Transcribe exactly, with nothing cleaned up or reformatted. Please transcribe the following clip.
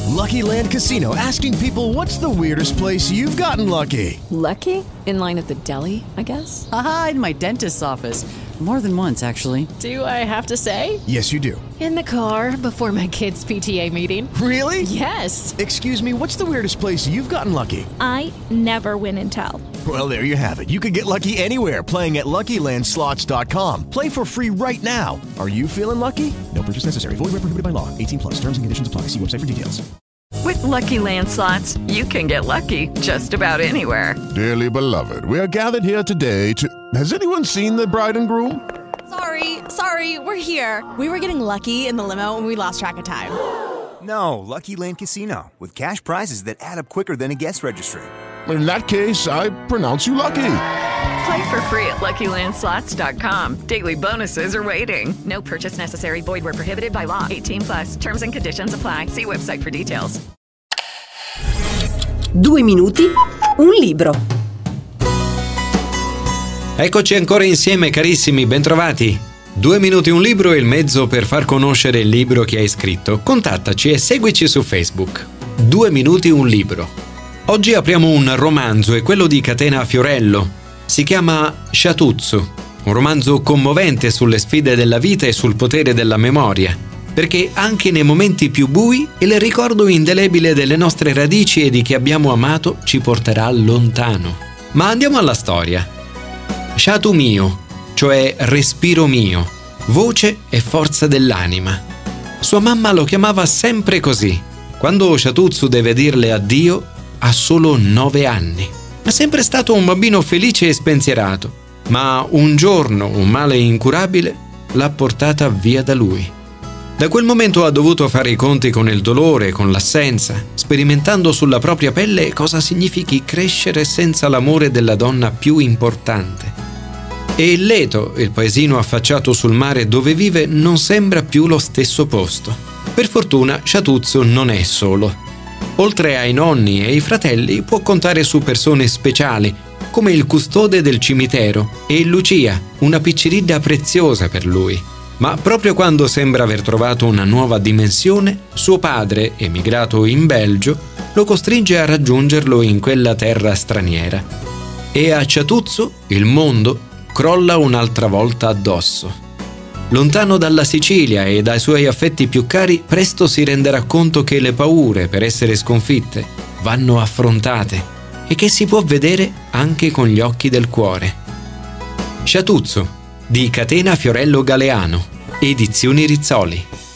Lucky Land Casino, asking people, what's the weirdest place you've gotten lucky? Lucky? In line at the deli, I guess? Aha, in my dentist's office. More than once, actually. Do I have to say? Yes, you do. In the car before my kids' P T A meeting. Really? Yes. Excuse me, what's the weirdest place you've gotten lucky? I never win and tell. Well, there you have it. You can get lucky anywhere, playing at Lucky Land Slots dot com. Play for free right now. Are you feeling lucky? No purchase necessary. Void where prohibited by law. eighteen plus. Terms and conditions apply. See website for details. With Lucky Land Slots, you can get lucky just about anywhere. Dearly beloved, we are gathered here today to... Has anyone seen the bride and groom? Sorry, sorry, we're here. We were getting lucky in the limo and we lost track of time. No, Lucky Land Casino, with cash prizes that add up quicker than a guest registry. In that case, I pronounce you lucky. Play for free at Lucky Land Slots dot com. Daily bonuses are waiting. No purchase necessary. Void where prohibited by law. eighteen plus. Terms and conditions apply. See website for details. Due minuti, un libro. Eccoci ancora insieme, carissimi, bentrovati. Due minuti un libro è il mezzo per far conoscere il libro che hai scritto. Contattaci e seguici su Facebook. Due minuti un libro. Oggi apriamo un romanzo, è quello di Catena Fiorello. Si chiama Shatutsu, un romanzo commovente sulle sfide della vita e sul potere della memoria, perché anche nei momenti più bui il ricordo indelebile delle nostre radici e di chi abbiamo amato ci porterà lontano. Ma andiamo alla storia. Shatu mio, cioè respiro mio, voce e forza dell'anima. Sua mamma lo chiamava sempre così. Quando Shatutsu deve dirle addio, ha solo nove anni. È sempre stato un bambino felice e spensierato, ma un giorno un male incurabile l'ha portata via da lui. Da quel momento ha dovuto fare i conti con il dolore, con l'assenza, sperimentando sulla propria pelle cosa significhi crescere senza l'amore della donna più importante. E il Leto, il paesino affacciato sul mare dove vive, non sembra più lo stesso posto. Per fortuna Shatutsu non è solo. Oltre ai nonni e ai fratelli può contare su persone speciali, come il custode del cimitero e Lucia, una picciridda preziosa per lui. Ma proprio quando sembra aver trovato una nuova dimensione, suo padre, emigrato in Belgio, lo costringe a raggiungerlo in quella terra straniera. E a Shatutsu il mondo crolla un'altra volta addosso. Lontano dalla Sicilia e dai suoi affetti più cari, presto si renderà conto che le paure, per essere sconfitte, vanno affrontate e che si può vedere anche con gli occhi del cuore. Shatutsu, di Catena Fiorello Galeano, Edizioni Rizzoli.